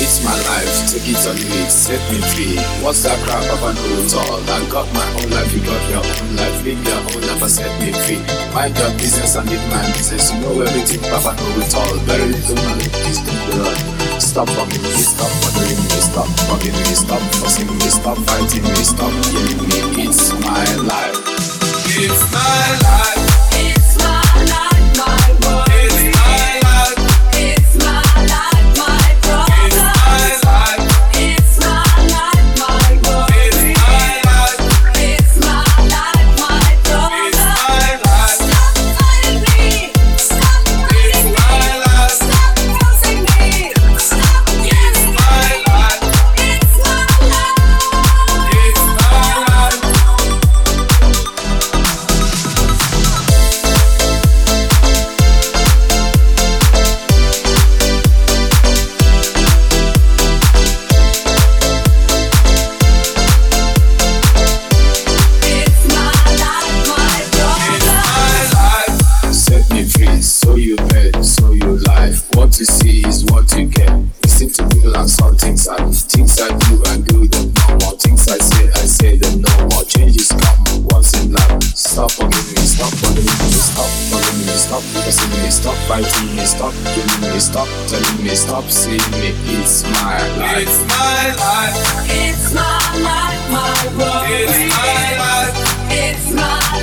It's my life, take it or leave it, set me free. What's that crap, Papa know it all. I got my own life, you got your own life. Live your own life and set me free. Mind your business and live my business. You know everything, Papa know it all. Very little knowledge, please don't be run. Stop bugging me, stop bothering me, stop bugging me, stop fussing me, stop fighting me, stop killing me. It's my life. It's my life. It's my life, my world. It's my life. It's my life, my problem. It's my life. It's my life, my world. It's my life. It's my life, my problem. It's my life. Stop fighting me. Stop fighting me. my life. Stop forcing me. Stop killing me. my life. It's my life. It's my life. It's my life, my problem. Set me free, so you bet, so you life. What you see is what you get. Listen to people and saw things I do and do them no more. Things I say them no more. Changes come once in life. Stop forgiving me, stop bothering me, stop bugging me, stop pressing me, stop fighting me, stop killing me, stop telling me, stop seeing me. It's my life. It's my life. It's my life, my world. It's my life. It's my